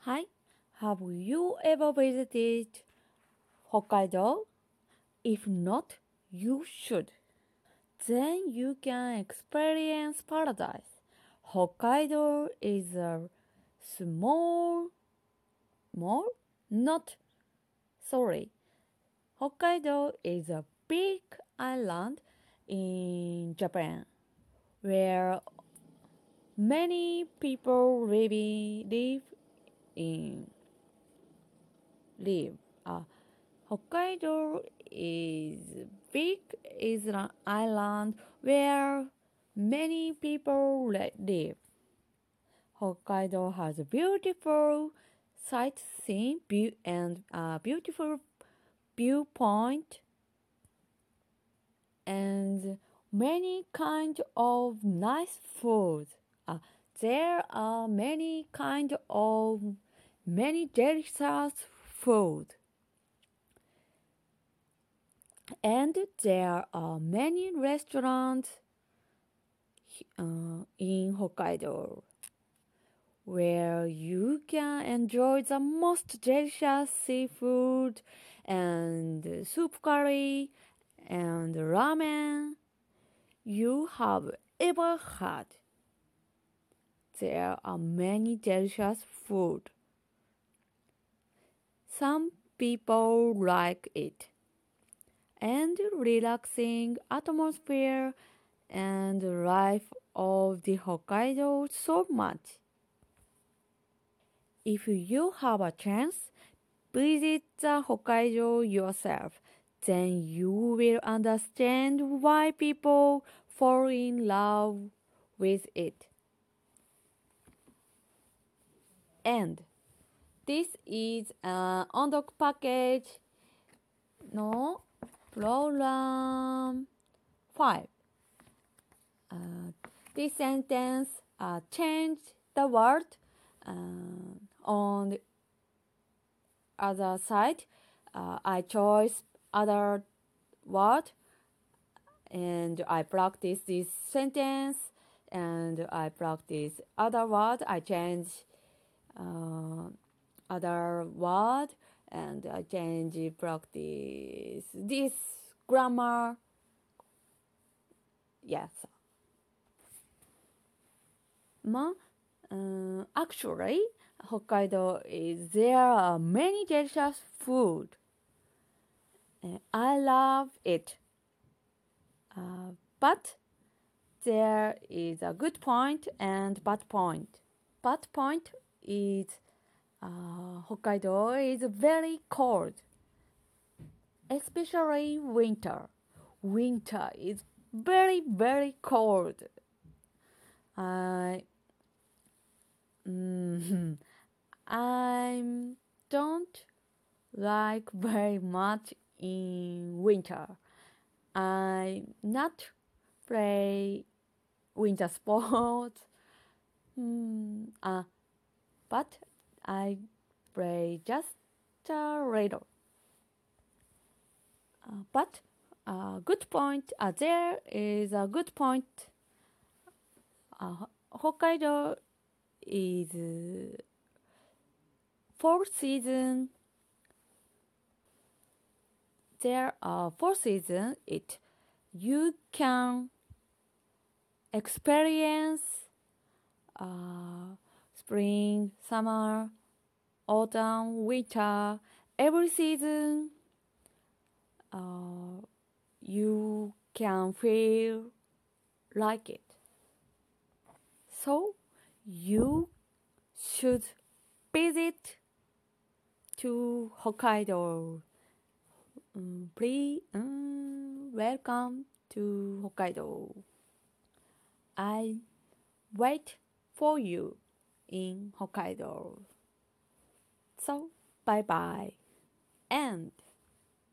Hi, have you ever visited Hokkaido? If not, you should. Then you can experience paradise. Hokkaido is a small, small? Not, sorry. Hokkaido is a big island in Japan where many people in live. Hokkaido is big island where many people live. Hokkaido has a beautiful sightseeing and a beautiful viewpoint and many kind of nice food. There are many delicious food. And there are many restaurants in Hokkaido where you can enjoy the most delicious seafood and soup curry and ramen you have ever had. There are many delicious food. Some people like it. And relaxing atmosphere and life of the Hokkaido so much. If you have a chance, visit the Hokkaido yourself. Then you will understand why people fall in love with it. And this is an Ondoc package no program 5. This sentence changed the word on the other side. I chose other word and I practice this sentence and I practice other word. I change other word and I change practice this grammar. Yes. Actually, Hokkaido there are many delicious food. I love it. But there is a good point and bad point. Bad point is Hokkaido is very cold, especially winter. Winter is very, very cold. I don't like very much in winter. I not play winter sports, but I play just a little. But good point. There is a good point. Hokkaido is four season. There are four seasons. You can experience spring, summer, autumn, winter. Every season, you can feel like it. So you should visit to Hokkaido. Please welcome to Hokkaido. I wait for you in Hokkaido. So bye bye and